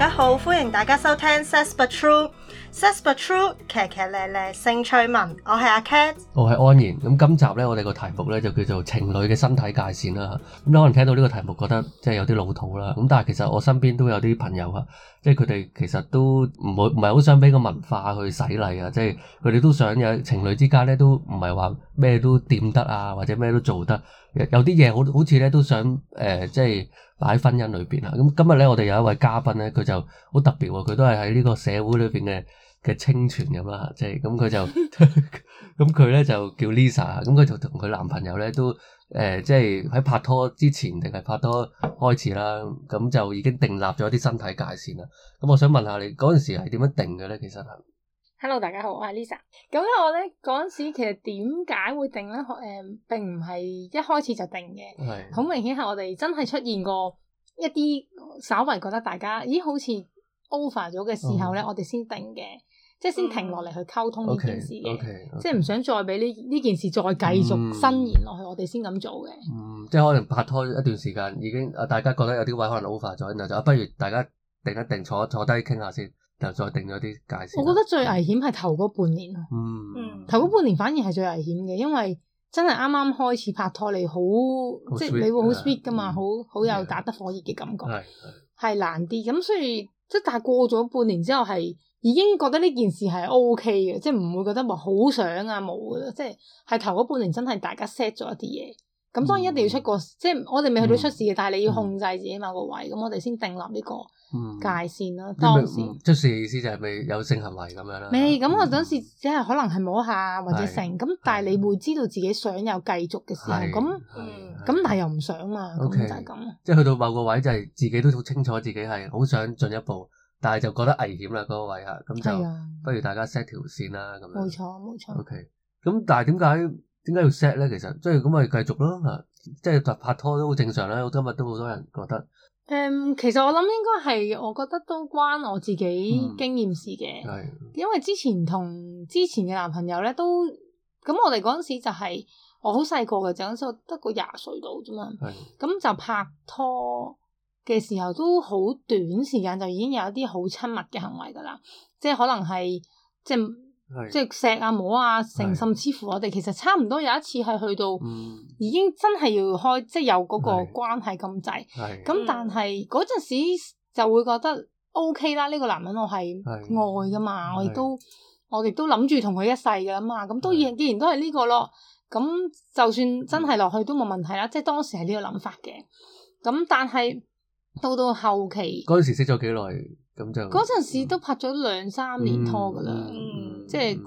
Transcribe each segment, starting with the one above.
家好，歡迎大家收聽 Says But True，Says But True， 騎騎咧咧性趣聞，我係阿 Cat， 我係安然。咁今集咧，我哋個題目咧就叫做情侶嘅身體界線啦。咁可能聽到呢個題目覺得即係有啲老土啦。咁但係其實我身邊都有啲朋友啊，即係佢哋其實都唔係好想俾個文化去洗禮啊。即係佢哋都想有情侶之間咧，都唔係話咩都掂得啊，或者咩都做得。有啲嘢好似咧都想即係擺喺婚姻裏邊啊。咁今日咧，我哋有一位嘉賓咧，佢就好特別喎。佢都係喺呢個社會裏邊嘅清泉咁啦，即係咁佢就咁佢咧就叫 Lisa， 咁佢就同佢男朋友咧都即係喺拍拖之前定係拍拖開始啦，咁就已經訂立咗一啲身體界線啦。咁我想問下你嗰陣時係點樣定嘅咧？其實係 Hello， 大家好，我係 Lisa。咁咧我咧嗰陣時其實點解會定咧？並唔係一開始就定嘅，好明顯係我哋真係出現過一啲稍為覺得大家咦好似 over 咗嘅時候咧，我哋先定嘅。即係先停落嚟去溝通呢件事嘅，即係唔想再俾呢件事再繼續伸延落去，我哋先咁做嘅。 即係可能拍拖一段時間已經大家覺得有啲位可能 over 咗，然後就不如大家定一定坐低傾下先，就再定咗啲界線。 我覺得最危險係頭嗰半年咯。頭嗰半年反而係最危險嘅，因為真係啱啱開始拍拖，你好即係你會好 sweet 噶嘛，好有打得火熱嘅感覺，係難啲。咁所以即係但係過咗半年之後係。已經覺得呢件事係 OK 嘅，即係唔會覺得話好想啊冇嘅，即係頭嗰半年真係大家 set 咗一啲嘢，咁當然一定要出個，即係我哋未去到出事嘅，但係你要控制自己某個位，咁我哋先訂立呢個界線啦。當時出事嘅意思就係未有性行為咁樣啦。 未，咁我嗰時只係可能係摸下或者成，咁但係你會知道自己想有繼續嘅時候，咁但係又唔想嘛，咁就係咁。 即係去到某個位就係自己都好清楚自己係好想進一步。但係就覺得危險啦嗰個位嚇，咁就不如大家 set 條線啦咁樣。冇錯。OK，咁但係點解要 set 咧？其實即係咁咪繼續咯嚇，即係拍拖都好正常啦。我今日都好多人覺得。 其實我諗應該係，我覺得都關我自己經驗事嘅。因為之前同之前嘅男朋友咧都，咁我哋嗰陣時就係我好細個嘅，就嗰陣時我得個20歲度啫嘛。咁就拍拖嘅時候都好短時間就已經有一啲好親密嘅行為噶啦，即係可能係即係錫啊摸啊甚至乎我哋其實差唔多有一次係去到已經真係要開即係有嗰個關係咁滯，咁但係嗰陣時就會覺得 OK 啦，呢個男人我係愛噶嘛，我哋都諗住同佢一世噶嘛，咁既然都係呢個咯，咁就算真係落去都冇問題啦，即係當時係呢個諗法嘅，咁但係到後期嗰陣時識咗幾耐，咁就嗰陣時都拍咗2-3年拖噶啦，即係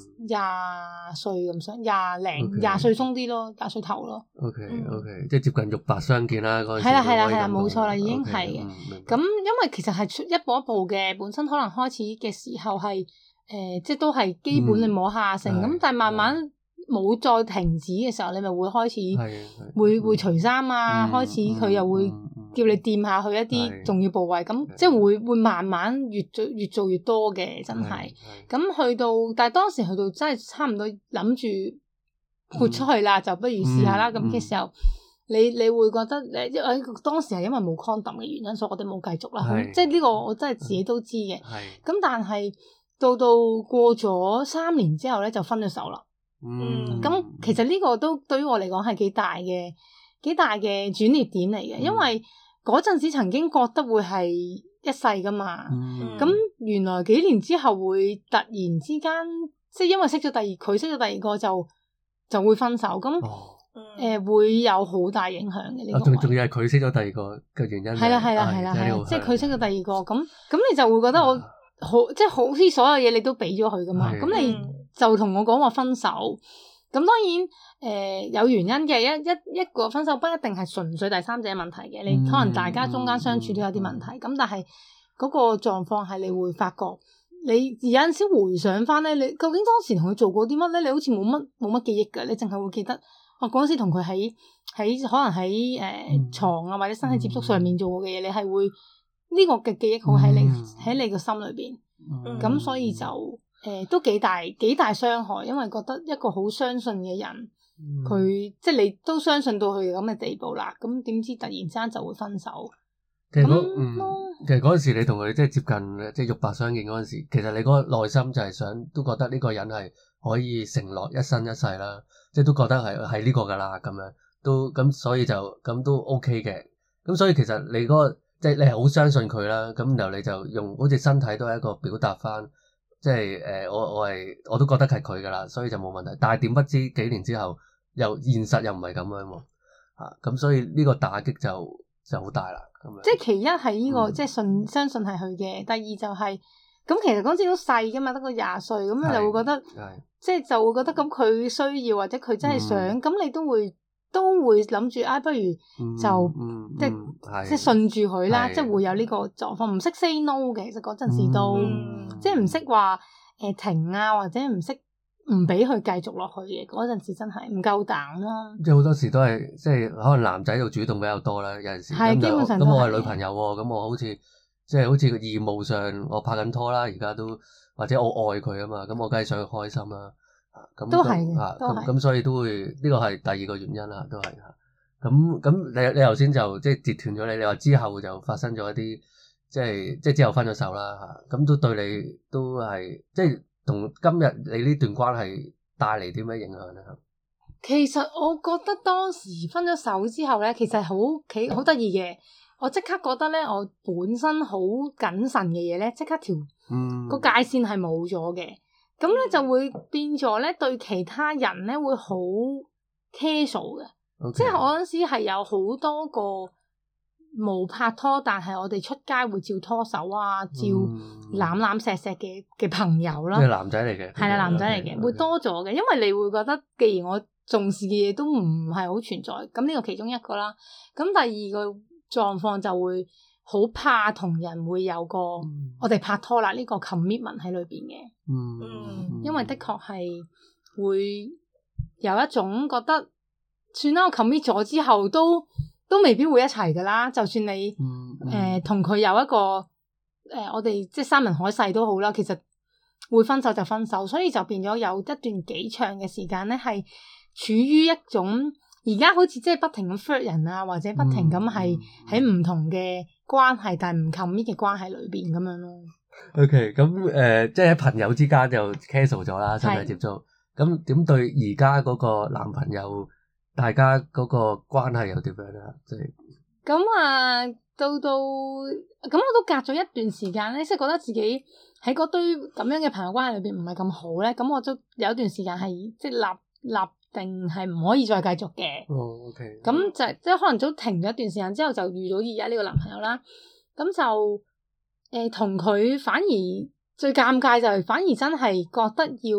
20歲咁上20歲鬆啲咯，20歲頭咯。 OK， 即係接近肉白相見啦嗰陣時。 係啦，冇錯啦，已經係嘅。咁因為其實係一步一步嘅，本身可能開始嘅時候係即係都係基本你摸下成咁，但係慢慢冇再停止嘅時候，你咪會開始會除衫啊，開始佢又會叫你掂下去一啲重要部位，咁即係會慢慢越做越多嘅，真係。咁去到，但係當時去到真係差唔多諗住豁出去啦，就不如試下啦。咁嘅時候，你會覺得當時係因為冇 condom 嘅原因，所以我哋冇繼續啦。即係呢個我真係自己都知嘅。咁但係到過咗3年之後咧，就分咗手啦。咁其實呢個都對於我嚟講係幾大嘅轉捩點嚟嘅，因為嗰陣時曾經覺得會係一世噶嘛，咁原來幾年之後會突然之間，即係因為佢識咗第二個就會分手，咁會有好大影響嘅呢個。 仲要係佢識咗第二個嘅原因。係啦，即係佢識咗第二個，咁你就會覺得我即係好似所有嘢你都俾咗佢噶嘛，咁你就同我講話分手，咁當然有原因嘅，一個分手不一定係純粹第三者問題嘅，你可能大家中間相處都有啲問題，咁但係嗰個狀況係你會發覺，你有陣時回想翻咧，你究竟當時同佢做過啲乜咧？你好似冇乜記憶㗎，你淨係會記得我嗰陣時同佢喺可能喺床啊或者身體接觸上面做過嘅嘢，你係會呢個嘅記憶好喺你個心裏邊，咁所以就都幾大傷害，因為覺得一個好相信嘅人，佢即係你都相信到佢咁嘅地步啦，咁點知突然之間就會分手， 其實嗰陣時你同佢即係接近即係肉白相見嗰陣時，其實你嗰個內心就係想都覺得呢個人係可以承諾一生一世啦，即係都覺得係呢個㗎啦咁樣，都咁所以就咁都 OK 嘅。咁所以其實你嗰個即係你係好相信佢啦，咁然後你就用好似身體都係一個表達翻，即係我都覺得係佢㗎啦，所以就冇問題。但係點不知幾年之後又現實又唔係咁樣喎，咁所以呢個打擊就好大啦。咁樣即係其一係呢個即係相信係佢嘅，第二就係咁其實嗰陣時都細㗎嘛，得個20歲，咁你就會覺得即係就會覺得咁佢需要或者佢真係想，咁你都會諗住不如就即係順住佢啦，即係會有呢個狀況，唔識 say no 嘅，其實嗰陣時都即係唔識話停啊，或者唔識唔俾佢繼續落去嘅，嗰陣時真係唔夠膽咯。即係好多時都係即係可能男仔就主動比較多啦，有陣時咁我係女朋友喎，咁我好似即係好似個義務上我拍緊拖啦，而家都或者我愛佢啊嘛，咁我梗係想佢開心啦。咁都係嘅， 咁所以都會呢個係第二個原因啦，都係咁你頭先就即係截斷咗你話之後就發生咗一啲即係之後分咗手啦嚇，咁都對你都係即係同今日你呢段關係帶嚟啲咩影響咧？ 其實我覺得當時分咗手之後咧，其實好得意嘅，我即刻覺得咧，我本身好謹慎嘅嘢咧，即刻個界線係冇咗嘅。咁咧就會變咗咧，對其他人咧會好 casual 嘅，即係我嗰陣時係有好多個冇拍拖，但係我哋出街會照拖手啊，照攬攬錫錫嘅朋友啦。 即係男仔嚟嘅， 係啦，男仔嚟嘅，會多咗嘅，因為你會覺得，既然我重視嘅嘢都唔係好存在，咁呢個其中一個啦。咁第二個狀況就會好怕同人會有個我哋拍拖啦呢個 commitment 喺裏邊嘅，因為的確係會有一種覺得，算啦，我 commit 咗之後都未必會一齊噶啦，就算你同佢有一個我哋即係山盟海誓都好啦，其實會分手就分手，所以就變咗有一段幾長嘅時間咧，係處於一種而家好似即係不停咁 flirt 人啊，或者不停咁係喺唔同嘅關係，但係唔 commit 嘅關係裏邊咁樣咯。 OK， 咁即係喺朋友之間就 casual 咗啦，身體接觸。咁點對而家嗰個男朋友，大家嗰個關係又點樣咧？即係咁啊，到咁我都隔咗一段時間咧，即係覺得自己喺嗰堆咁樣嘅朋友關係裏邊唔係咁好咧，咁我都有一段時間係即係立定係唔可以再繼續嘅。 OK。 咁就即係可能都停咗一段時間之後，就遇到而家呢個男朋友啦。咁就同佢反而最尷尬就係，反而真係覺得要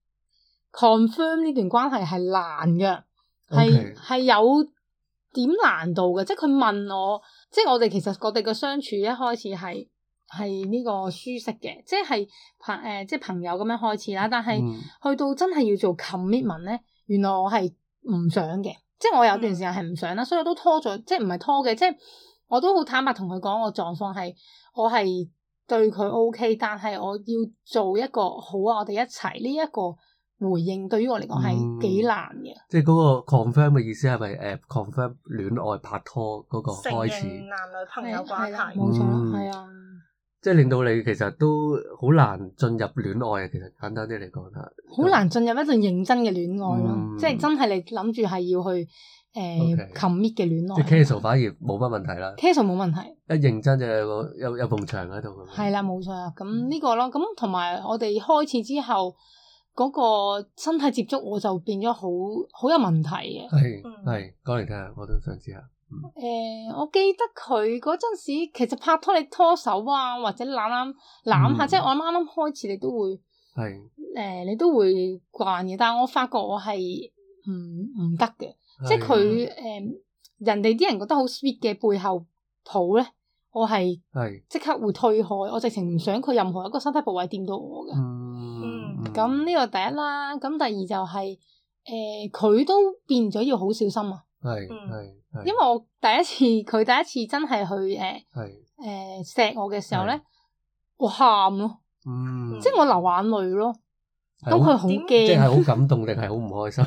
confirm 呢段關係係難嘅，係有點難度嘅。即係佢問我，即係我哋其實我哋嘅相處一開始係呢個舒適嘅，即係即係朋友咁樣開始啦。但係去到真係要做 commitment 咧，原來我係唔想嘅，即係我有段時間係唔想啦，所以我都拖咗，即係唔係拖嘅，即係我都好坦白同佢講，我狀況係我係對佢 OK， 但係我要做一個好啊，我哋一齊呢一個回應，對於我嚟講係幾難嘅。 即係嗰個 confirm 嘅意思係咪confirm 戀愛拍拖嗰個開始？ 承認男女朋友關係， 冇錯，係啊。 即係令到你其實都好難進入戀愛啊！其實簡單啲嚟講， 好難進入一段認真嘅戀愛咯。即係真係你諗住係要去commit 嘅戀愛。 即係 casual 反而冇乜問題啦。 casual 冇問題。一認真就有埲牆喺度。 係啦，冇錯。咁呢個咯，咁同埋我哋開始之後嗰個身體接觸，我就變咗好有問題嘅。 係講嚟聽下，我都想知下。 我記得佢嗰陣時，其實拍拖你拖手啊，或者攬下，即係我啱啱開始，你都會你都會慣嘅。但係我發覺我係唔得嘅，即係佢人哋啲人覺得好 sweet 嘅背後抱咧，我係即刻會推開，我直情唔想佢任何一個身體部位掂到我嘅。咁呢個第一啦，咁第二就係佢都變咗要好小心啊。因為佢第一次真係去錫我嘅時候咧，我喊咯，即係我流眼淚咯。咁佢好驚， 即係好感動定係好唔開心？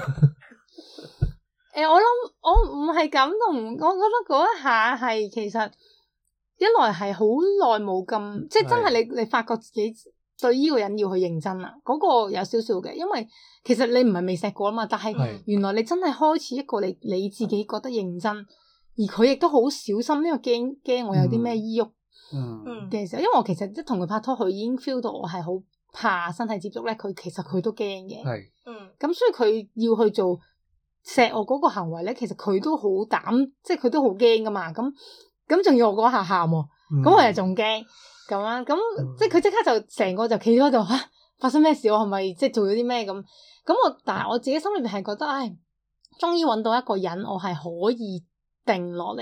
我諗我唔係感動，我覺得嗰一下係其實一來係好耐冇咁，即係真係你發覺自己對呢個人要去認真啦，嗰個有少少嘅，因為其實你唔係未錫過啊嘛，但係原來你真係開始一個你自己覺得認真，而佢亦都好小心，因為驚我有啲咩依鬱嘅時候，因為我其實一同佢拍拖，佢已經 feel 到我係好怕身體接觸咧，其實佢都驚嘅，咁所以佢要去做錫我嗰個行為咧，其實佢都好膽，即係佢都好驚噶嘛，咁仲要我嗰下喊喎，咁我又仲驚。咁啊，咁即係佢即刻就成個就企咗喺度嚇，發生咩事？我係咪即係做咗啲咩咁？但係我自己心裏邊係覺得，終於揾到一個人，我係可以定落嚟，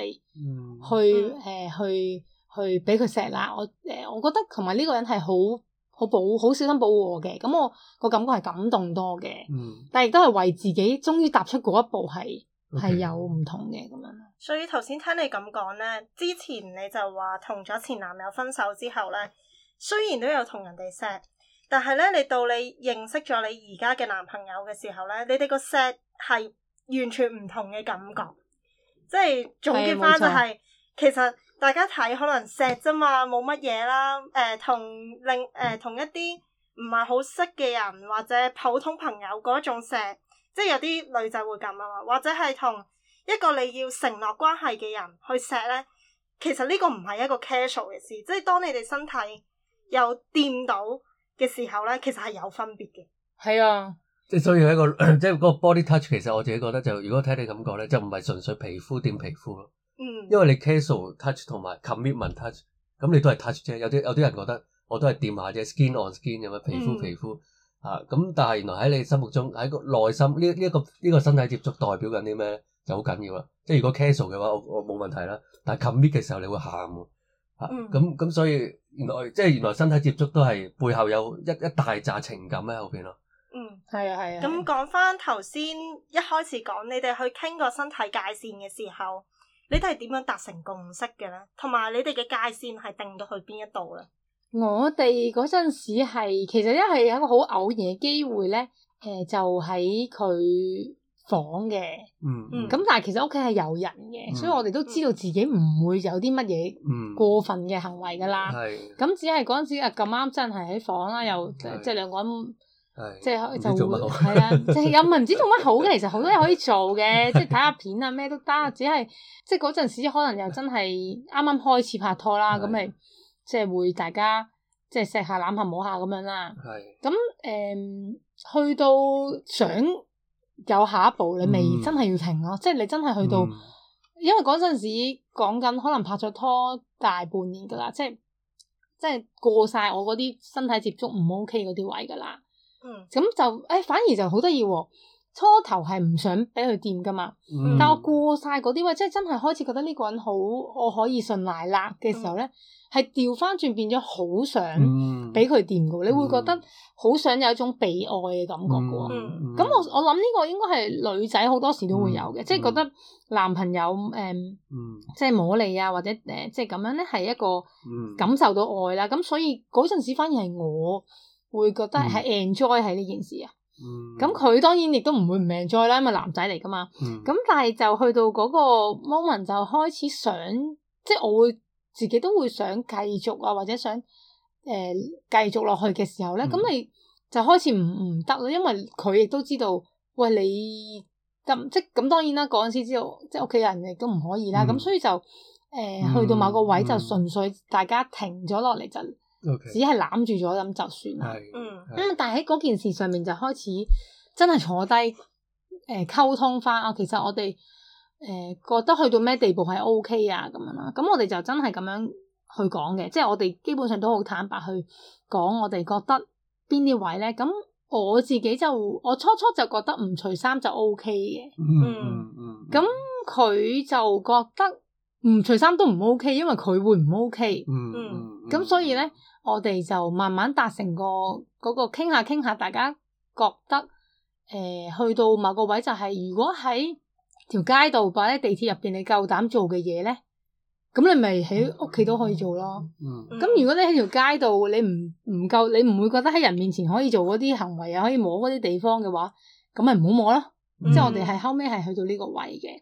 去俾佢錫啦。我覺得同埋呢個人係好小心保護我嘅，咁我個感覺係感動多嘅，但係亦都係為自己終於踏出嗰一步係有唔同嘅咁樣。 所以頭先聽你咁講咧，之前你就話同咗前男友分手之後咧，雖然都有同人哋錫，但係咧你到你認識咗你而家嘅男朋友嘅時候咧，你哋個錫係完全唔同嘅感覺。即係總結翻就係，其實大家睇可能錫啫嘛，冇乜嘢啦。同一啲唔係好識嘅人或者普通朋友嗰種錫，即係有啲女仔會咁啊嘛，或者係同一個你要承諾關係嘅人去錫咧，其實呢個唔係一個 casual 嘅事，即係當你哋身體有掂到嘅時候咧，其實係有分別嘅。 係啊， 即係所以一個即係嗰個 body touch， 其實我自己覺得就如果聽你咁講咧，就唔係純粹皮膚掂皮膚咯。因為你 casual touch 同埋 commitment touch， 咁你都係 touch 啫。有啲人覺得我都係掂下啫 ，skin on skin 咁樣皮膚皮膚咁但係原來喺你心目中喺個內心呢個身體接觸代表緊啲咩咧？就好緊要啦，即係如果 casual 嘅話，我冇問題啦。但係 commit 嘅時候，你會喊喎，咁所以原來身體接觸都係背後有一大紮情感喺後邊咯。 係啊。 咁講翻頭先一開始講，你哋去傾個身體界線嘅時候，你哋係點樣達成共識嘅咧？同埋你哋嘅界線係定到去邊一度咧？ 我哋嗰陣時係其實係一個好偶然嘅機會咧，就喺佢房嘅，咁但係其實屋企係有人嘅，所以我哋都知道自己唔會有啲乜嘢過分嘅行為噶啦。咁只係嗰陣時咁啱真係喺房啦，又即係兩個人，即係就會係啦，即係又唔係唔知做乜好嘅，其實好多嘢可以做嘅，即係睇下片啊咩都得，只係即係嗰陣時可能又真係啱啱開始拍拖啦，咁咪即係會大家即係錫下攬下摸下咁樣啦。咁去到想有下一步，你未真係要停咯，即係你真係去到，因為嗰陣時講緊可能拍咗拖大半年噶啦，即係過晒我嗰啲身體接觸唔 OK 嗰啲位噶啦，咁就反而就好得意喎，初頭係唔想俾佢掂噶嘛，但我過晒嗰啲位，即係真係開始覺得呢個人好，我可以信賴啦嘅時候咧，係調翻轉變咗好想俾佢掂噶，你會覺得好想有一種被愛嘅感覺噶。咁我諗呢個應該係女仔好多時都會有嘅，即係覺得男朋友即係摸你啊，或者即係咁樣咧，係一個感受到愛啦。咁所以嗰陣時反而係我會覺得係 enjoy 喺呢件事啊。咁佢當然亦都唔會唔 enjoy 啦，因為男仔嚟噶嘛。咁但係就去到嗰個 moment 就開始想，即係我會自己都會想繼續啊，或者想繼續落去嘅時候咧，咁你就開始唔得咯，因為佢亦都知道，喂你咁當然啦，嗰陣時知道即係屋企人亦都唔可以啦，咁所以就去到某個位就純粹大家停咗落嚟就。只係攬住咗咁就算啦。但係喺嗰件事上面就開始真係坐低溝通翻啊。其實我哋覺得去到咩地步係 OK 啊咁樣啦。咁我哋就真係咁樣去講嘅，即係我哋基本上都好坦白去講，我哋覺得邊啲位咧。咁我自己我初初就覺得唔除衫就 OK 嘅。咁佢就覺得唔除衫都唔 OK，因為佢會唔 OK。咁所以咧。我哋就慢慢達成嗰個傾下，大家覺得去到某個位就係，如果喺條街度或者地鐵入邊你夠膽做嘅嘢咧，咁你咪喺屋企都可以做咯。咁如果你喺條街度你唔夠，你唔會覺得喺人面前可以做嗰啲行為啊，可以摸嗰啲地方嘅話，咁咪唔好摸咯。即係我哋係後尾係去到呢個位嘅。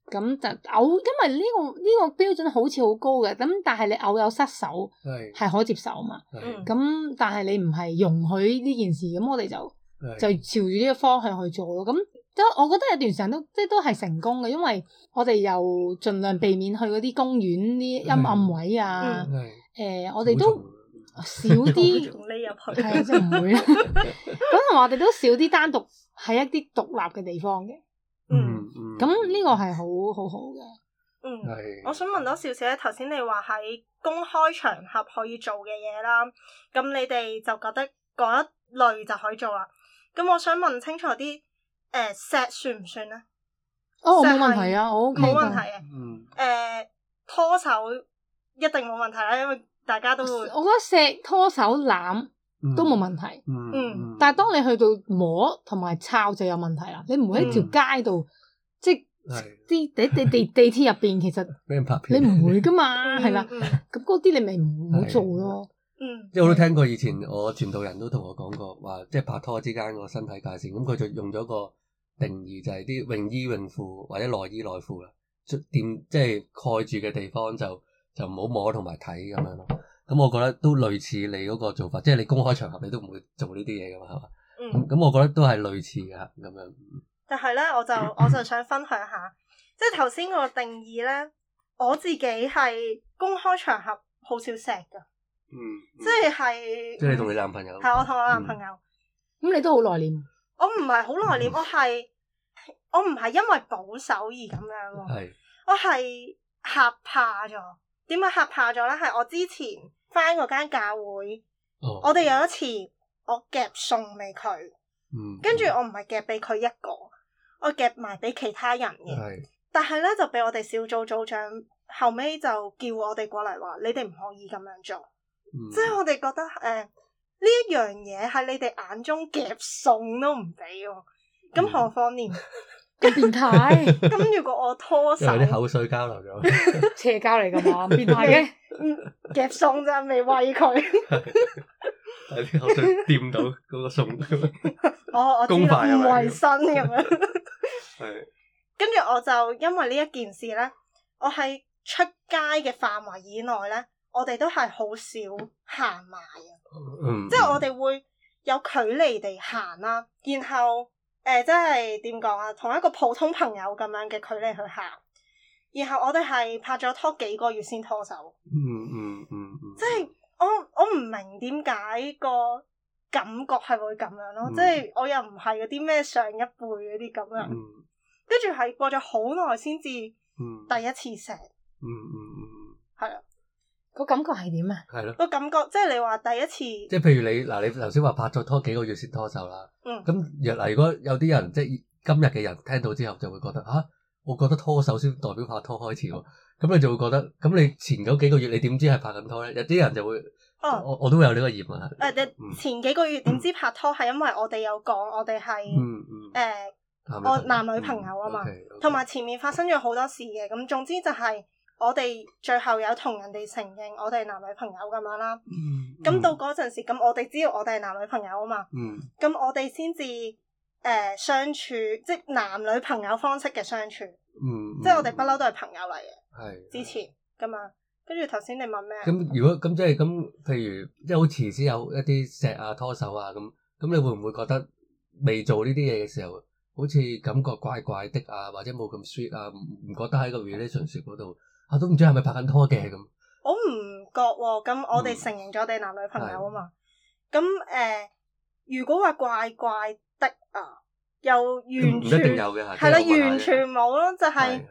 咁就偶，因為呢個標準好似好高嘅，咁但係你偶有失手係可接受嘛。咁但係你唔係容許呢件事，咁我哋就朝住呢個方向去做咯。咁我覺得有段時間都係成功嘅，因為我哋又盡量避免去嗰啲公園啲陰暗位啊。我哋都少啲匿入去，係啊，即係唔會啦。咁同埋我哋都少啲單獨喺一啲獨立嘅地方嘅。咁呢個係好好嘅。 我想問多少少咧，頭先你話喺公開場合可以做嘅嘢啦，咁你哋就覺得嗰一類就可以做啦。咁我想問清楚啲，錫算唔算咧？ 冇問題啊，我 OK 冇問題嘅。拖手一定冇問題啦，因為大家都會。我覺得錫、拖手、攬都冇問題。但係當你去到摸同埋抄就有問題啦。你唔會喺條街度，即係啲地鐵入邊，其實你唔會噶嘛，係啦。咁嗰啲你咪唔好做咯。 即係我都聽過以前我傳道人都同我講過，話即係拍拖之間個身體界線，咁佢就用咗個定義，就係啲泳衣泳褲或者內衣內褲啦，即係蓋住嘅地方就唔好摸同埋睇咁樣咯。咁我覺得都類似你嗰個做法，即係你公開場合你都唔會做呢啲嘢噶嘛，係嘛？咁我覺得都係類似嘅咁樣。 但係咧，我就想分享下，即係頭先個定義咧，我自己係公開場合好少錫噶。即係你同你男朋友？ 係我同我男朋友。 咁你都好內斂？ 我唔係好內斂，我唔係因為保守而咁樣喎。我係嚇怕咗。點解嚇怕咗咧？係我之前返嗰間教會，我哋有一次我夾餸俾佢，跟住我唔係夾俾佢一個，我夾埋俾其他人嘅。但係咧就俾我哋小組組長後尾就叫我哋過嚟話，你哋唔可以咁樣做。即係我哋覺得呢一樣嘢喺你哋眼中夾餸都唔俾喎，咁何況連咁變態？ 咁如果我拖手， 有啲口水交流咗， 邪教嚟噶嘛？變態嘅， 夾餸咋，未餵佢， 有啲口水掂到嗰個餸， 我知道唔衛生咁樣。 係， 跟住我就因為呢一件事咧，我喺出街嘅範圍以內咧。我哋都係好少行埋啊，即係我哋會有距離地行啦，然後即係點講啊，同一個普通朋友咁樣嘅距離去行，然後我哋係拍咗拖幾個月先拖手，即係我唔明點解個感覺係會咁樣咯，即係我又唔係嗰啲咩上一輩嗰啲咁樣，跟住係過咗好耐先至第一次錫，係啊。 個感覺係點啊？ 係咯， 個感覺即係你話第一次， 即係譬如你頭先話拍咗拖幾個月先拖手啦。咁如果有啲人即係今日嘅人聽到之後就會覺得我覺得拖手先代表拍拖開始喎。咁你就會覺得，咁你前嗰幾個月你點知係拍緊拖咧？有啲人就會，我都會有呢個疑問。 前幾個月點知拍拖係因為我哋有講我哋係我男女朋友啊嘛，同埋前面發生咗好多事嘅。咁總之就係。我哋最後有同人哋承認我哋男女朋友咁樣啦，咁到嗰陣時，咁我哋知道我哋係男女朋友啊嘛，咁我哋先至相處，即係男女朋友方式嘅相處，即係我哋不嬲都係朋友嚟嘅，之前噶嘛。跟住頭先你問咩？ 咁如果咁即係咁，譬如即係好遲先有一啲錫啊、拖手啊咁你會唔會覺得未做呢啲嘢嘅時候，好似感覺怪怪的啊，或者冇咁 sweet 啊？唔覺得喺個 relationship 嗰度？都唔知係咪拍緊拖嘅咁， 我唔覺喎。咁我哋承認咗我哋男女朋友啊嘛。咁如果話怪怪的啊，又完全唔一定有嘅，係啦，完全冇咯。就係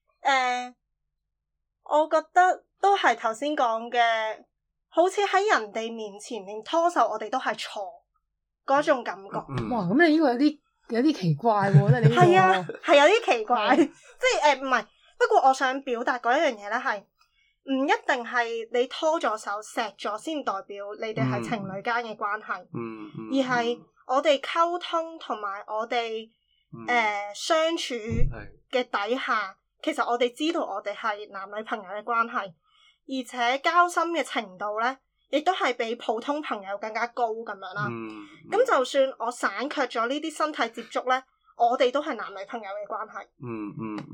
我覺得都係頭先講嘅，好似喺人哋面前連拖手我哋都係錯嗰種感覺。 哇！咁你呢個有啲奇怪喎，你呢個係啊，係有啲奇怪，即係唔係。不過我想表達嗰一樣嘢咧，係唔一定係你拖咗手錫咗先代表你哋係情侶間嘅關係，而係我哋溝通同埋我哋相處嘅底下，其實我哋知道我哋係男女朋友嘅關係，而且交心嘅程度咧，亦都係比普通朋友更加高咁樣啦。咁就算我省卻咗呢啲身體接觸咧，我哋都係男女朋友嘅關係。係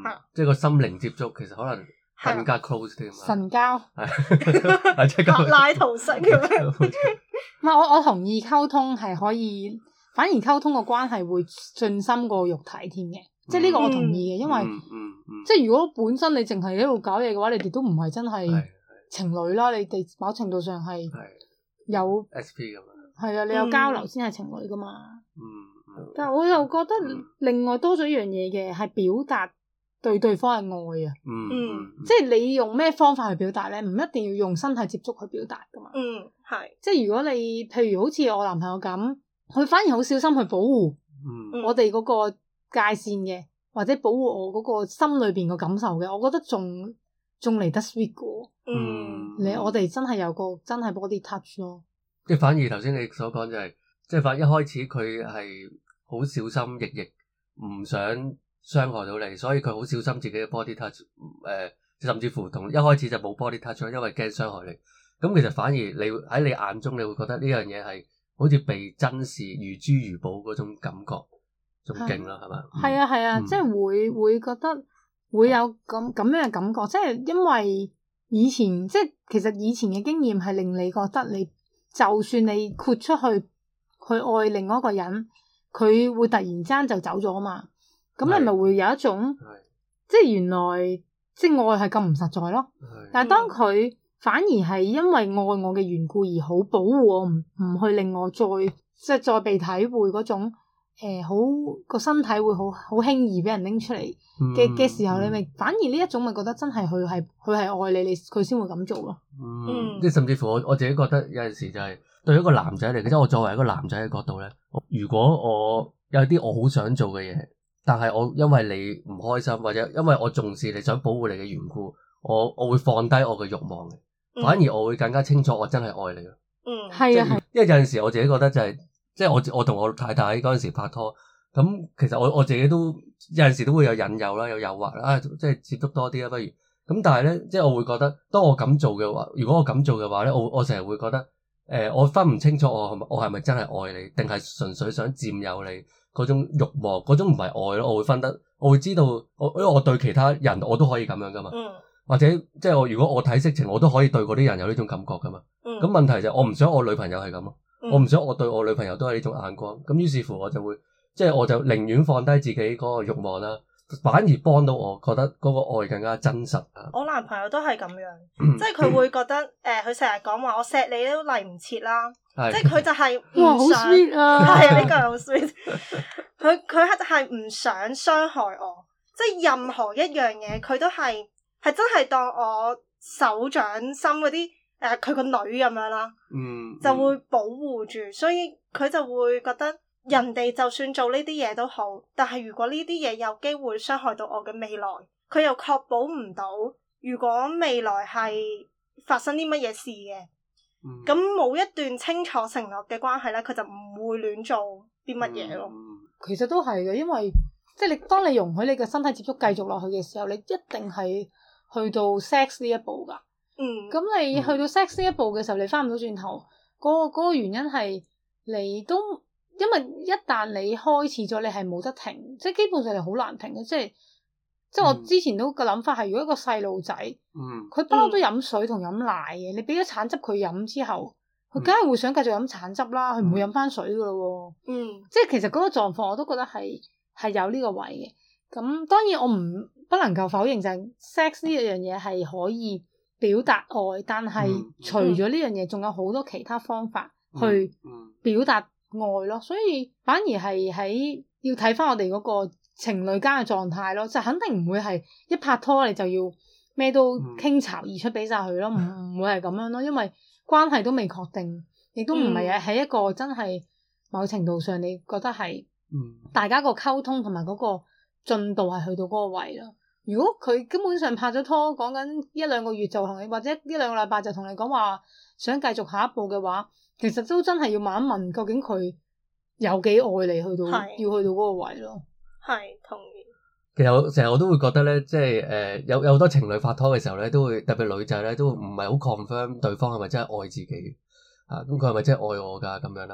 即係個心靈接觸，其實可能更加 close 啲嘛。 神交係即係柏拉圖式咁樣。 唔係我同意溝通係可以，反而溝通個關係會進深過肉體添嘅。即係呢個我同意嘅，因為即係如果本身你淨係喺度搞嘢嘅話，你哋都唔係真係情侶啦。你哋某程度上係有 SP 咁樣。 係啊，你有交流先係情侶噶嘛。但係我又覺得另外多咗一樣嘢嘅係表達對對方嘅愛啊。即係你用咩方法去表達咧？唔一定要用身體接觸去表達噶嘛。 係。 即係如果你譬如好似我男朋友咁，佢反而好小心去保護我哋嗰個界線嘅，或者保護我嗰個心裏邊個感受嘅，我覺得仲嚟得 sweet 過。我哋真係有個真係 body touch 咯。 即係反而頭先你所講就係，即係反而一開始佢係好小心翼翼，唔想傷害到你，所以佢好小心自己嘅 body touch。甚至乎同一開始就冇 body touch，因為驚傷害你。咁其實反而你喺你眼中，你會覺得呢樣嘢係好似被珍視如珠如寶嗰種感覺，仲勁啦，係嘛？ 係啊係啊，即係會覺得會有咁樣嘅感覺，即係因為以前即係其實以前嘅經驗係令你覺得你就算你豁出去愛另外一個人，佢會突然間就走咗啊嘛。咁你咪會有一種即係原來即係愛係咁唔實在咯。但係當佢反而係因為愛我嘅緣故而好保護我，唔去令我再被體會嗰種好個身體會好輕易俾人拎出嚟嘅時候，你咪反而呢一種咪覺得真係佢係愛你佢先會咁做咯。 即係甚至乎我自己覺得有陣時就係對一個男仔嚟，即係我作為一個男仔嘅角度咧，如果我有啲我好想做嘅嘢，但係我因為你唔開心，或者因為我重視你想保護你嘅緣故，我會放低我嘅慾望嘅。反而我會更加清楚我真係愛你咯。 係啊係。 因為有陣時我自己覺得就係，即係我同我太太嗰陣時拍拖，咁其實我自己都有陣時都會有引誘啦，有誘惑啦，即係接觸多啲啦，不如咁。但係咧，即係我會覺得，當我咁做嘅話，如果我咁做嘅話咧，我成日會覺得，我分唔清楚我係咪真係愛你，定係純粹想佔有你嗰種慾望，嗰種唔係愛咯。我會知道，因為我對其他人我都可以咁樣噶嘛。或者即係如果我睇色情，我都可以對嗰啲人有呢種感覺噶嘛。咁問題就係我唔想我女朋友係咁咯，我唔想我對我女朋友都係呢種眼光。咁於是乎我就會即係我就寧願放低自己嗰個慾望啦，反而幫到我覺得嗰個愛更加真實啊。 我男朋友都係咁樣，即係佢會覺得佢成日講話我錫你都嚟唔切啦，即係佢就係唔想。哇，好 sweet 啊！係啊，呢個好 sweet。佢係唔想傷害我，即係任何一樣嘢佢都係真係當我手掌心嗰啲佢個女咁樣啦，就會保護住，所以佢就會覺得人哋就算做呢啲嘢都好，但係如果呢啲嘢有機會傷害到我嘅未來，佢又確保唔到如果未來係發生啲乜嘢事嘅，咁冇一段清楚承諾嘅關係咧，佢就唔會亂做啲乜嘢咯。 其實都係嘅，因為即係當你容許你嘅身體接觸繼續落去嘅時候，你一定係去到 sex 呢一步噶。咁你去到 sex 呢一步嘅時候，你翻唔到轉頭。嗰個原因係你都因為一旦你開始咗，你係冇得停，即係基本上你好難停嘅。即係我之前都個諗法係，如果一個細路仔，佢不嬲都飲水同飲奶嘅，你俾咗橙汁佢飲之後，佢梗係會想繼續飲橙汁啦，佢唔會飲翻水噶咯。即係其實嗰個狀況我都覺得係有呢個位嘅。咁當然我不能夠否認就係 sex 呢樣嘢係可以表達愛，但係除咗呢樣嘢，仲有好多其他方法去表達愛咯。所以反而係要睇翻我哋嗰個情侶間嘅狀態咯，就肯定唔會係一拍拖你就要咩都傾巢而出俾晒佢咯，唔會係咁樣咯，因為關係都未確定，亦都唔係喺一個真係某程度上你覺得係大家個溝通同埋嗰個進度係去到嗰個位咯。如果佢根本上拍咗拖，講緊一兩個月就同你，或者一兩個禮拜就同你講話想繼續下一步嘅話，其實都真係要問一問，究竟佢有幾愛你，要去到嗰個位咯。 係同意。 其實成日我都會覺得咧，即係有好多情侶拍拖嘅時候咧，都會特別女仔咧都唔係好 confirm 對方係咪真係愛自己啊？咁佢係咪真係愛我㗎咁樣啦？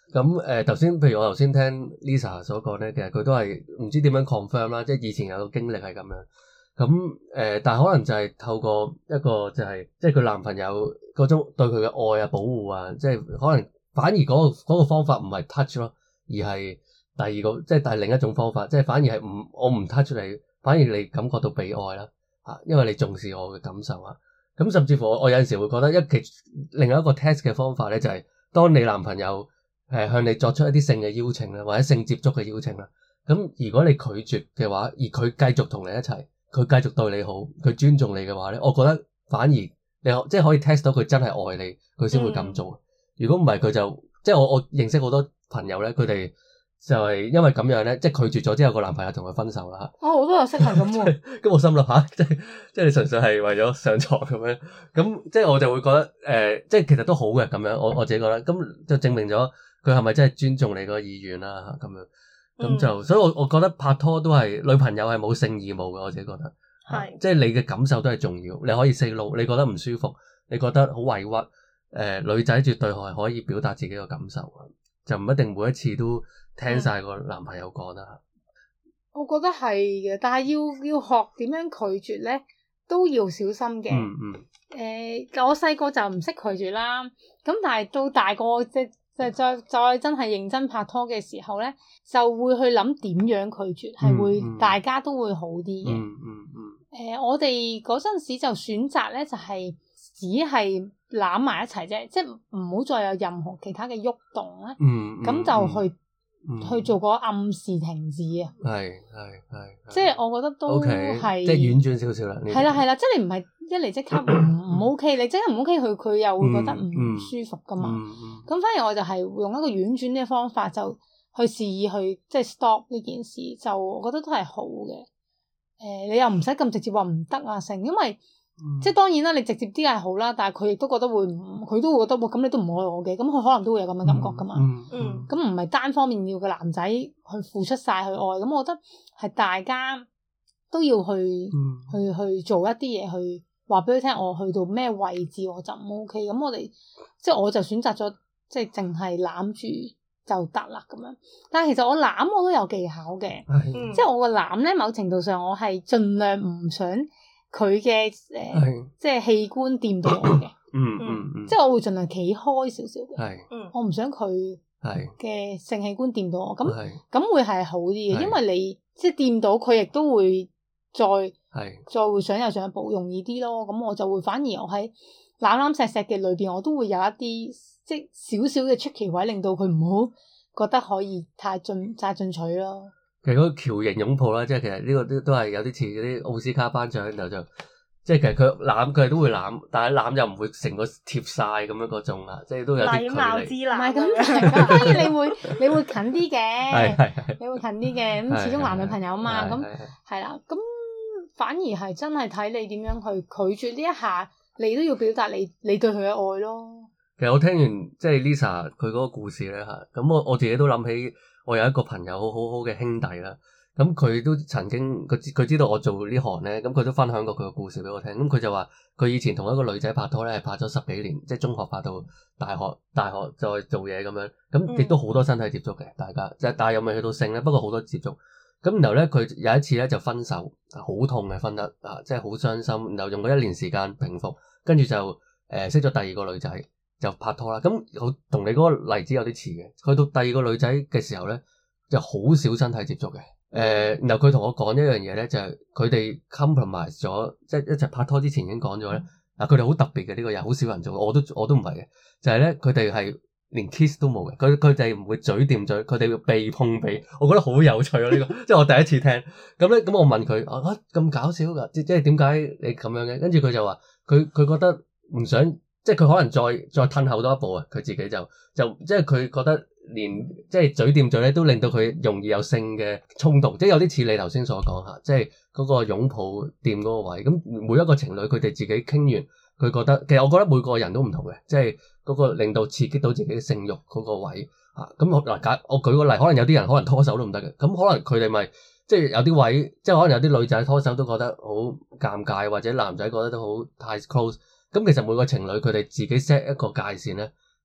咁頭先，譬如我頭先聽 Lisa 所講咧，其實佢都係唔知點樣 confirm 啦，即係以前有個經歷係咁樣。咁但係可能就係透過一個就係即係佢男朋友嗰種對佢嘅愛啊、保護啊，即係可能反而嗰個方法唔係 touch 咯，而係第二個即係但係另一種方法，即係反而係我唔 touch 你，反而你感覺到被愛啦嚇，因為你重視我嘅感受啊。咁甚至乎我有陣時會覺得另外一個 test 嘅方法咧，就係當你男朋友向你作出一啲性嘅邀請啦，或者性接觸嘅邀請啦，咁如果你拒絕嘅話，而佢繼續同你一齊，佢繼續對你好，佢尊重你嘅話咧，我覺得反而你即係可以 test 到佢真係愛你，佢先會咁做。如果唔係佢就即係我認識好多朋友咧，佢哋就係因為咁樣咧，即係拒絕咗之後，個男朋友同佢分手啦嚇。 我都有識係咁喎。 咁我心諗下，即係你純粹係為咗上床咁樣，咁即係我就會覺得即係其實都好嘅咁樣。我自己覺得，咁就證明咗佢係咪真係尊重你個意願啦咁樣。咁就所以我覺得拍拖都係女朋友係冇性義務嘅，我自己覺得係，即係你嘅感受都係重要。你可以 say no，你覺得唔舒服，你覺得好委屈，女仔絕對係可以表達自己嘅感受，就唔一定每一次都聽晒個男朋友講啦。 我覺得係嘅，但係要學點樣拒絕咧，都要小心嘅。我細個就唔識拒絕啦，咁但係到大個即係再真係認真拍拖嘅時候咧，就會去諗點樣拒絕，係會大家都會好啲嘅。我哋嗰陣時就選擇咧，就係只係攬埋一齊啫，即係唔好再有任何其他嘅喐動咧。咁就去做個暗示停止啊。係，即係我覺得都係即係婉轉少少啦。 係啦，即係你唔係一嚟即刻唔 OK，你即刻唔 OK，佢又會覺得唔舒服噶嘛。咁反而我就係用一個婉轉嘅方法，就去示意去即係 stop 呢件事，就我覺得都係好嘅。你又唔使咁直接話唔得啊成，因為即係當然啦，你直接啲係好啦，但係佢亦都覺得佢都會覺得咁你都唔愛我嘅，咁佢可能都會有咁嘅感覺噶嘛。咁唔係單方面要個男仔去付出晒去愛，咁我覺得係大家都要去做一啲嘢，去話俾佢聽，我去到咩位置我就唔 OK。咁我就選擇咗即係淨係攬住就得啦咁樣。但係其實我攬我都有技巧嘅，即係我個攬咧，某程度上我係盡量唔想佢嘅即係器官掂到我嘅，即係我會盡量企開少少嘅，我唔想佢嘅性器官掂到我，咁會係好啲嘅，因為你即係掂到佢，亦都會再會想有進一步容易啲咯。咁我就會反而我喺攬攬錫錫嘅裏邊，我都會有一啲即係少少嘅出奇位，令到佢唔好覺得可以太進取咯。 其實嗰個橋形擁抱啦，即係其實呢個都係有啲似嗰啲奧斯卡頒獎，然後就即係其實佢哋都會攬，但係攬又唔會成個貼晒咁樣嗰種啦，即係都有啲距離。禮貌之攬，唔係咁，當然你會近啲嘅，你會近啲嘅，咁始終男女朋友嘛，咁係啦，咁反而係真係睇你點樣去拒絕呢一下，你都要表達你對佢嘅愛咯。 其實我聽完即係 Lisa 佢嗰個故事咧嚇，咁我自己都諗起。我有一個朋友好嘅兄弟啦，咁佢都曾經佢知道我做呢行咧，咁佢都分享過佢個故事俾我聽。咁佢就話佢以前同一個女仔拍拖咧，係拍咗10幾年，即係中學拍到大學再做嘢咁樣，咁亦都好多身體接觸嘅，大家即係但係又未去到性咧，不過好多接觸。咁然後咧佢有一次咧就分手，好痛嘅分得即係好傷心，然後用咗1年時間平復，跟住就識咗第二個女仔。就拍拖啦，咁我同你嗰個例子有啲似嘅。去到第二個女仔嘅時候咧，就好少身體接觸嘅。然後佢同我講一樣嘢咧，就係佢哋 compromise 咗，即係一齊拍拖之前已經講咗咧。佢哋好特別嘅呢個人，好少人做，我都唔係嘅。就係咧，佢哋係連 kiss 都冇嘅，佢哋唔會嘴掂嘴，佢哋要鼻碰鼻。我覺得好有趣啊！呢個即係我第一次聽。咁我問佢咁搞笑㗎，即係點解你咁樣嘅？跟住佢就話佢覺得唔想。即係佢可能再褪後多一步啊！佢自己就即係佢覺得連即係嘴掂嘴咧，都令到佢容易有性嘅衝動，即係有啲似你頭先所講嚇，即係嗰個擁抱掂嗰個位。咁每一個情侶佢哋自己傾完，佢覺得其實我覺得每個人都唔同嘅，即係嗰個令到刺激到自己嘅性慾嗰個位嚇。咁我舉個例，可能有啲人可能拖手都唔得嘅，咁可能佢哋咪即係有啲位，即係可能有啲女仔拖手都覺得好尷尬，或者男仔覺得都好太 close。咁其實每個情侶佢哋自己 set 一個界線咧，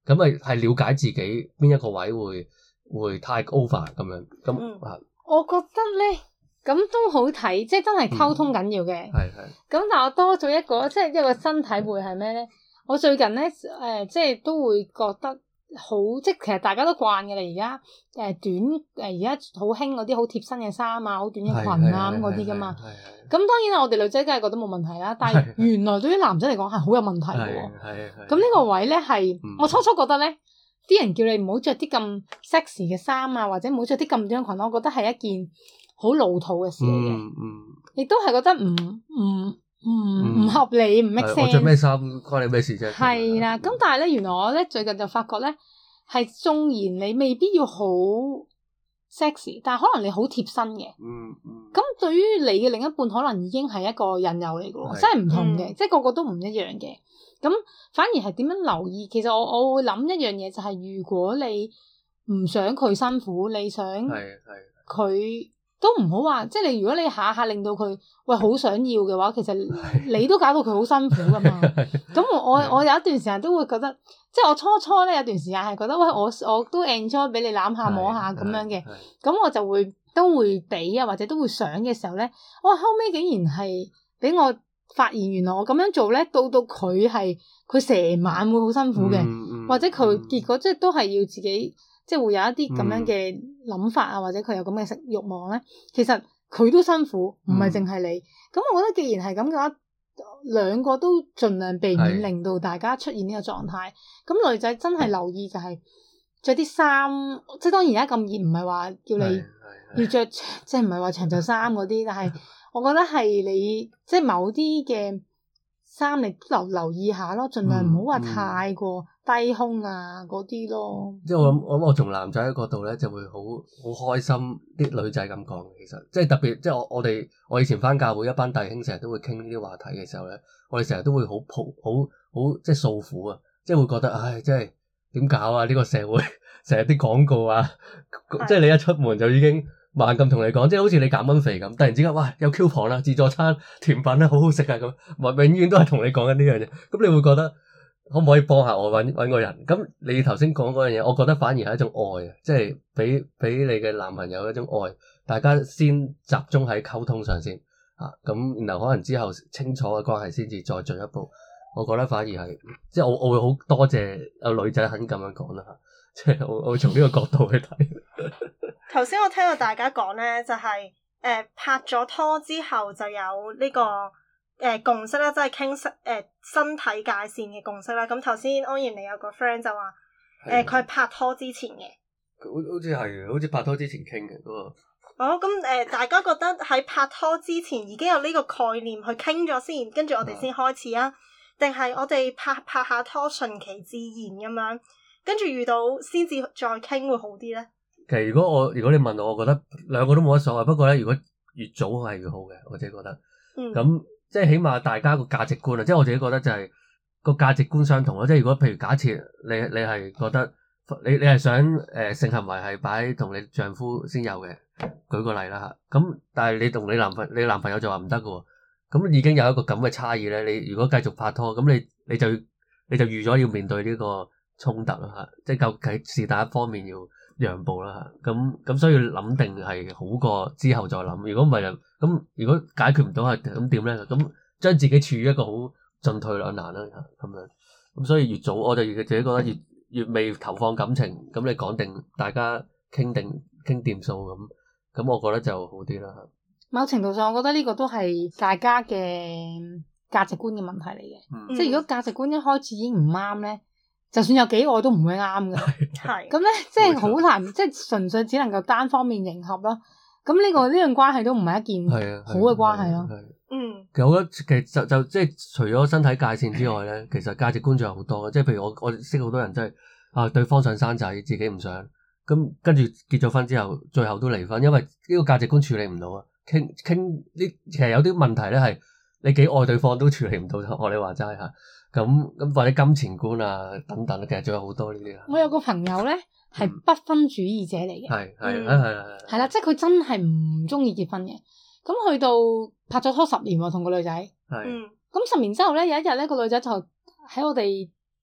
咁咪係了解自己邊一個位會太 over 咁樣，咁啊， 我覺得咧。咁都好睇，即係真係溝通緊要嘅。 係。 咁但係我多咗一個，即係一個身體會係咩咧？我最近咧即係都會覺得好，即係其實大家都慣嘅啦。而家短而家好興嗰啲好貼身嘅衫啊，好短嘅裙啊咁嗰啲噶嘛。咁當然啦，我哋女仔梗係覺得冇問題啦。但係原來對於男仔嚟講係好有問題嘅喎。係。咁呢個位咧係我初初覺得咧，啲人叫你唔好着啲咁 sexy 嘅衫啊，或者唔好着啲咁短嘅裙，我覺得係一件好老土嘅事嚟嘅，亦都係覺得唔合理，唔 make sense。 我着咩衫關你咩事啫？ 係啦，咁但係咧，原來我咧最近就發覺咧，係縱然你未必要好 sexy， 但係可能你好貼身嘅。咁對於你嘅另一半，可能已經係一個引誘嚟嘅喎，真係唔同嘅，即係個個都唔一樣嘅。咁反而係點樣留意？其實我會諗一樣嘢，就係如果你唔想佢辛苦，你想佢。都唔好話，即係你如果你下下令到佢喂好想要嘅話，其實你都搞到佢好辛苦噶嘛。咁我有一段時間都會覺得，即係我初咧有段時間係覺得喂我都 enjoy 俾你攬下摸下咁樣嘅，咁我就都會俾啊，或者都會想嘅時候咧，我後尾竟然係俾我發現原來我咁樣做咧，到佢成晚會好辛苦嘅，或者佢結果即係都係要自己。即係會有一啲咁樣嘅諗法啊，或者佢有咁嘅食慾望咧，其實佢都辛苦，唔係淨係你。咁我覺得既然係咁嘅話，兩個都盡量避免令到大家出現呢個狀態。咁女仔真係留意就係着啲衫，即係當然而家咁熱，唔係話叫你要着，即係唔係話長袖衫嗰啲，但係我覺得係你即係某啲嘅衫你留意下咯，盡量唔好話太過低胸啊嗰啲咯。 即係我諗我從男仔嘅角度咧，就會好開心啲女仔咁講。其實即係特別，即係我以前返教會一班弟兄成日都會傾呢啲話題嘅時候咧，我哋成日都會好即係訴苦啊，即係會覺得唉，即係點搞啊？呢個社會成日啲廣告啊，即係你一出門就已經猛咁同你講，即係好似你減緊肥咁，突然之間哇有 coupon 啦，自助餐甜品咧好好食啊咁，永遠都係同你講緊呢樣嘢，咁你會覺得可唔可以幫下我揾個人？咁你頭先講嗰樣嘢，我覺得反而係一種愛啊，即係俾你嘅男朋友一種愛，大家先集中喺溝通上先啊，咁然後可能之後清楚嘅關係先至再進一步。我覺得反而係即係我會好多謝有女仔肯咁樣講啦，即係我會從呢個角度去睇。 頭先我聽到大家講咧，就係拍咗拖之後就有呢個共識啦，即係傾身體界線嘅共識啦。咁頭先安然你有個 friend 就話佢係拍拖之前嘅， 好似係好似拍拖之前傾嘅嗰個。 哦，咁大家覺得喺拍拖之前已經有呢個概念去傾咗先，跟住我哋先開始啊？定係我哋拍下拖順其自然咁樣，跟住遇到先至再傾會好啲咧？ 其實如果你問我，我覺得兩個都冇乜所謂。不過咧，如果越早係越好嘅，我自己覺得。咁即係起碼大家個價值觀啊，即係我自己覺得就係個價值觀相同咯。即係如果譬如假設你係覺得你係想性行為係擺同你丈夫先有嘅，舉個例啦嚇。咁但係你同你男朋友就話唔得嘅喎。咁已經有一個咁嘅差異咧。你如果繼續拍拖，咁你就預咗要面對呢個衝突啦嚇。即係究竟是但一方面要讓步啦嚇。咁所以諗定係好過之後再諗。如果唔係咁如果解決唔到係咁點咧？咁將自己處於一個好進退兩難啦嚇咁樣。咁所以越早我就自己覺得越未投放感情，咁你講定大家傾掂數咁我覺得就好啲啦嚇。 某程度上，我覺得呢個都係大家嘅價值觀嘅問題嚟嘅。即係如果價值觀一開始已經唔啱咧，就算有幾愛都唔會啱嘅。係咁咧，即係好難，即係純粹只能夠單方面迎合咯。咁呢樣關係都唔係一件好嘅關係咯。 其實我覺得其實就即係除咗身體界線之外咧，其實價值觀仲有好多。即係譬如我識好多人真係對方想生仔，自己唔想，咁跟住結咗婚之後，最後都離婚，因為呢個價值觀處理唔到啊。傾呢，其實有啲問題咧係你幾愛對方都處理唔到，學你話齋嚇，咁或者金錢觀啊等等，其實仲有好多呢啲啊。 我有個朋友咧係不婚主義者嚟嘅，係啦，即係佢真係唔中意結婚嘅。咁去到拍咗拖10年喎，同個女仔，咁10年之後咧，有一日咧個女仔就喺我哋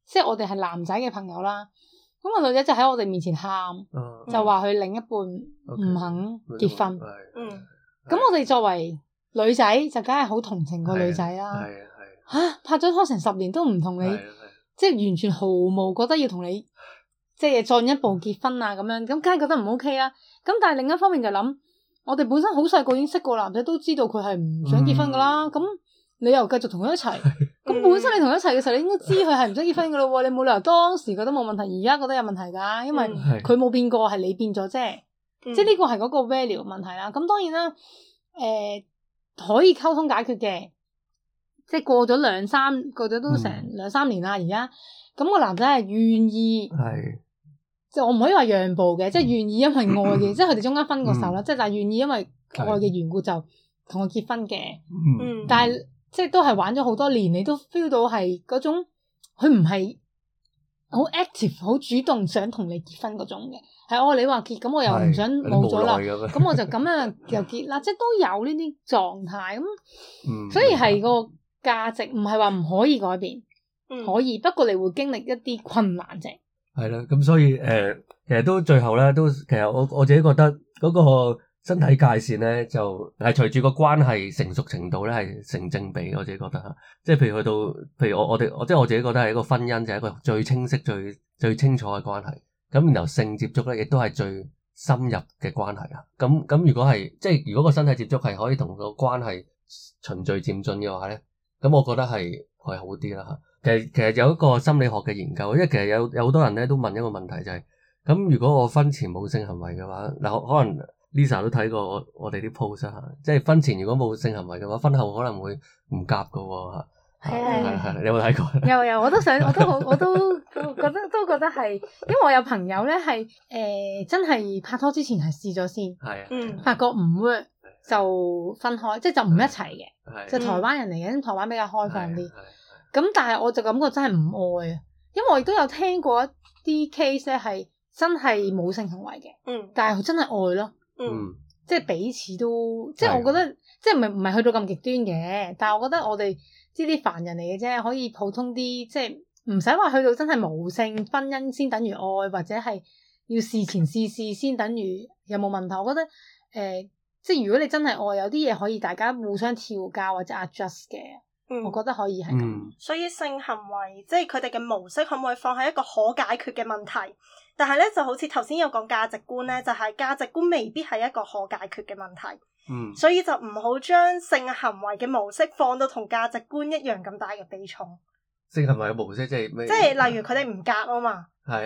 即係我哋係男仔嘅朋友啦。咁個女仔就喺我哋面前喊，就話佢另一半唔肯結婚。咁我哋作為女仔就梗係好同情個女仔啦。拍咗拖成10年都唔同你，即係完全毫無覺得要同你即係進一步結婚啊咁樣，咁梗係覺得唔 OK 啦。咁但係另一方面就諗，我哋本身好細個已經識個男仔，都知道佢係唔想結婚噶啦。咁你又繼續同佢一齊，咁本身你同佢一齊嘅時候，你應該知佢係唔想結婚噶咯。你冇理由當時覺得冇問題，而家覺得有問題噶，因為佢冇變過，係你變咗啫。即係呢個係嗰個 value 問題啦。咁當然啦，可以溝通解決嘅。即係過咗都成2-3年啦，而家咁個男仔係願意，即係我唔可以話讓步嘅，即係願意因為愛嘅，即係佢哋中間分過手啦，即係但係願意因為愛嘅緣故就同佢結婚嘅。但係即係都係玩咗好多年，你都 feel 到係嗰種佢唔係好 active、好主動想同你結婚嗰種嘅，係你話結，咁我又唔想冇咗啦，咁我就咁樣又結啦，即係都有呢啲狀態咁，所以係個價值唔係話唔可以改變，可以，不過你會經歷一啲困難啫。 係啦，咁所以其實都最後咧，都其實我自己覺得嗰個身體界線咧，就係隨住個關係成熟程度咧係成正比。我自己覺得嚇，即係譬如去到，譬如我即係我自己覺得係一個婚姻就係一個最清晰、最清楚嘅關係。咁然後性接觸咧，亦都係最深入嘅關係啊。咁如果係即係如果個身體接觸係可以同個關係循序漸進嘅話咧，咁我覺得係好啲啦嚇。其實有一個心理學嘅研究，因為其實有好多人咧都問一個問題就係，咁如果我婚前冇性行為嘅話，嗱可能 Lisa 都睇過我哋啲 post 嚇，即係婚前如果冇性行為嘅話，婚後可能會唔夾㗎喎嚇。係，你有冇睇過？ 有，我都覺得係，因為我有朋友咧係真係拍拖之前係試咗先，發覺唔 work 就分開，即係就唔一齊嘅，就台灣人嚟嘅，台灣比較開放啲。咁但係我就感覺真係唔愛啊，因為我亦都有聽過一啲 case 咧係真係冇性行為嘅，但係佢真係愛咯，即係彼此都，即係我覺得即係唔係去到咁極端嘅，但係我覺得我哋呢啲凡人嚟嘅啫，可以普通啲，即係唔使話去到真係無性婚姻先等於愛，或者係要事前試先等於有冇問題。我覺得即係如果你真係愛，有啲嘢可以大家互相調教或者 adjust 嘅。我覺得可以係咁， 所以性行為即係佢哋嘅模式可唔可以放喺一個可解決嘅問題？但係咧就好似頭先有講價值觀咧，就係價值觀未必係一個可解決嘅問題。所以就唔好將性行為嘅模式放到同價值觀一樣咁大嘅比重。 性行為嘅模式即係咩？ 即係例如佢哋唔夾啊嘛。 係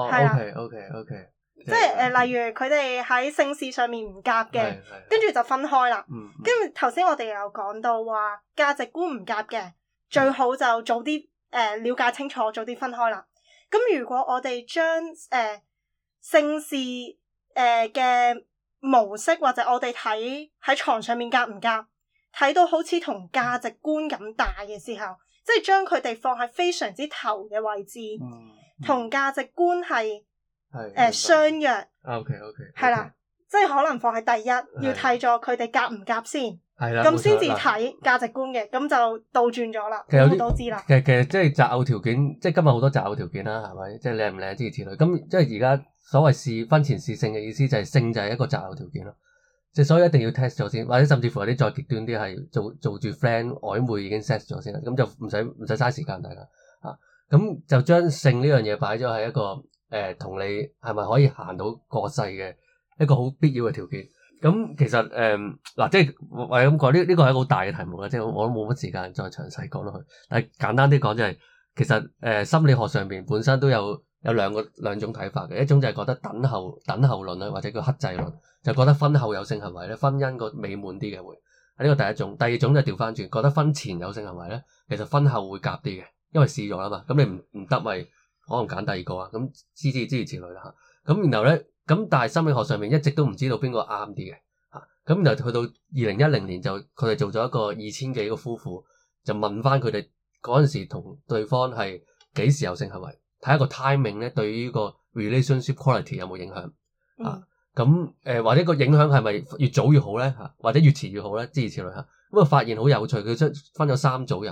，OK。 即係例如佢哋喺性事上面唔夾嘅，跟住就分開啦。跟住頭先我哋有講到話價值觀唔夾嘅，最好就早啲了解清楚，早啲分開啦。咁如果我哋將性事嘅模式或者我哋睇喺床上面夾唔夾，睇到好似同價值觀咁大嘅時候，即係將佢哋放喺非常之頭嘅位置，同價值觀係相約 ，OK， 係啦，即係可能放喺第一，要睇咗佢哋夾唔夾先，咁先至睇價值觀嘅，咁就倒轉咗啦，我都知啦。 其實即係擇偶條件，即係今日好多擇偶條件啦，係咪？即係靚唔靚之類。咁即係而家所謂婚前試性嘅意思就係性就係一個擇偶條件咯，即係所以一定要 test 咗先，或者甚至乎有啲再極端啲係做住 friend 曖昧已經 set 咗先啦，咁就唔使嘥時間大家啊，咁就將性呢樣嘢擺咗喺一個。同你係咪可以行到過世嘅一個好必要嘅條件？咁其實嗱，即係我係咁講，呢個係一個好大嘅題目啦，即係我都冇乜時間再詳細講落去。但係簡單啲講就係，其實心理學上邊本身都有兩種睇法嘅，一種就係覺得等候論啦，或者叫克制論，就覺得婚後有性行為咧，婚姻個美滿啲嘅會係呢個第一種。第二種就調翻轉，覺得婚前有性行為咧，其實婚後會夾啲嘅，因為試咗啦嘛，咁你唔得咪。可能揀第二個啊，咁諸如此類啦嚇。咁然後咧，咁但係心理學上面一直都唔知道邊個啱啲嘅嚇。咁然後去到2010年就佢哋做咗一個2000幾個夫婦，就問翻佢哋嗰陣時同對方係幾時有性行為，睇下個 timing 咧對於個 relationship quality 有冇影響啊？咁或者個影響係咪越早越好咧嚇，或者越遲越好咧？諸如此類嚇。咁啊發現好有趣，佢分咗3組人啊。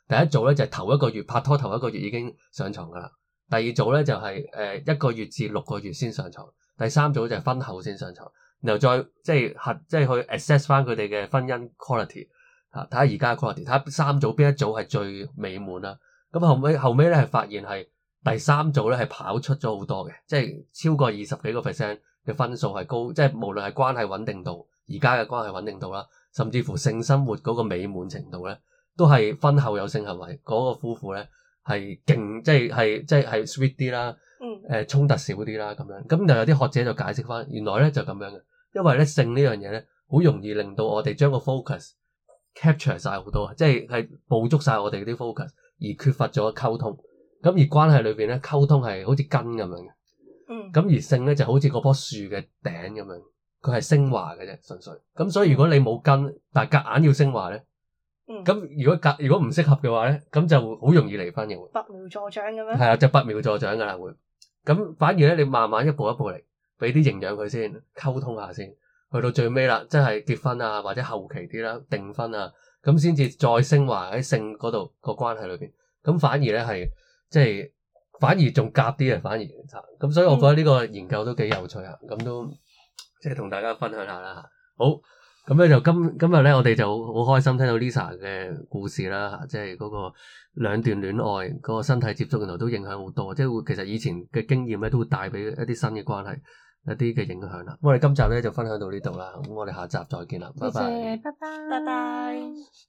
第一組咧就係頭一個月拍拖頭一個月已經上床噶啦，第二組咧就係1個月至6個月先上床，第三組就係婚後先上床，然後再即係去 assess 翻佢哋嘅婚姻 quality 嚇，睇下而家嘅 quality，睇下三組邊一組係最美滿啦。咁後尾咧係發現係第三組咧係跑出咗好多嘅，即係超過20幾個%嘅分數係高，即係無論係關係穩定度，而家嘅關係穩定度啦，甚至乎性生活嗰個美滿程度咧，都係婚後有性行為嗰個夫婦咧係勁，即係 sweet 啲啦，衝突少啲啦咁樣。咁就有啲學者就解釋翻，原來咧就咁樣嘅，因為咧性呢樣嘢咧好容易令到我哋將個 focus capture 晒好多，即係捕捉晒我哋啲 focus，而缺乏咗溝通。咁而關係裏邊咧溝通係好似根咁樣嘅。咁而性咧就好似嗰棵樹嘅頂咁樣，佢係升華嘅啫，純粹。咁所以如果你冇根，但係夾硬要升華咧，咁如果唔適合嘅話咧，咁就好容易離婚嘅會。 拔苗助長咁樣。係啊，就拔苗助長噶啦會。咁反而咧，你慢慢一步一步嚟，俾啲營養佢先，溝通下先，去到最尾啦，即係結婚啊，或者後期啲啦，訂婚啊，咁先至再升華喺性嗰度個關係裏邊。咁反而咧係即係。反而仲夾啲啊！反而咁，所以我覺得呢個研究都幾有趣啊！咁都即係同大家分享下啦。好，咁咧就今日咧，我哋就好開心聽到 Lisa 嘅故事啦。即係嗰個兩段戀愛嗰個身體接觸，原來都影響好多。即係會其實以前嘅經驗咧，都會帶俾一啲新嘅關係一啲嘅影響啦。咁我哋今集咧就分享到呢度啦。咁我哋下集再見啦，拜拜， 拜拜， 拜拜。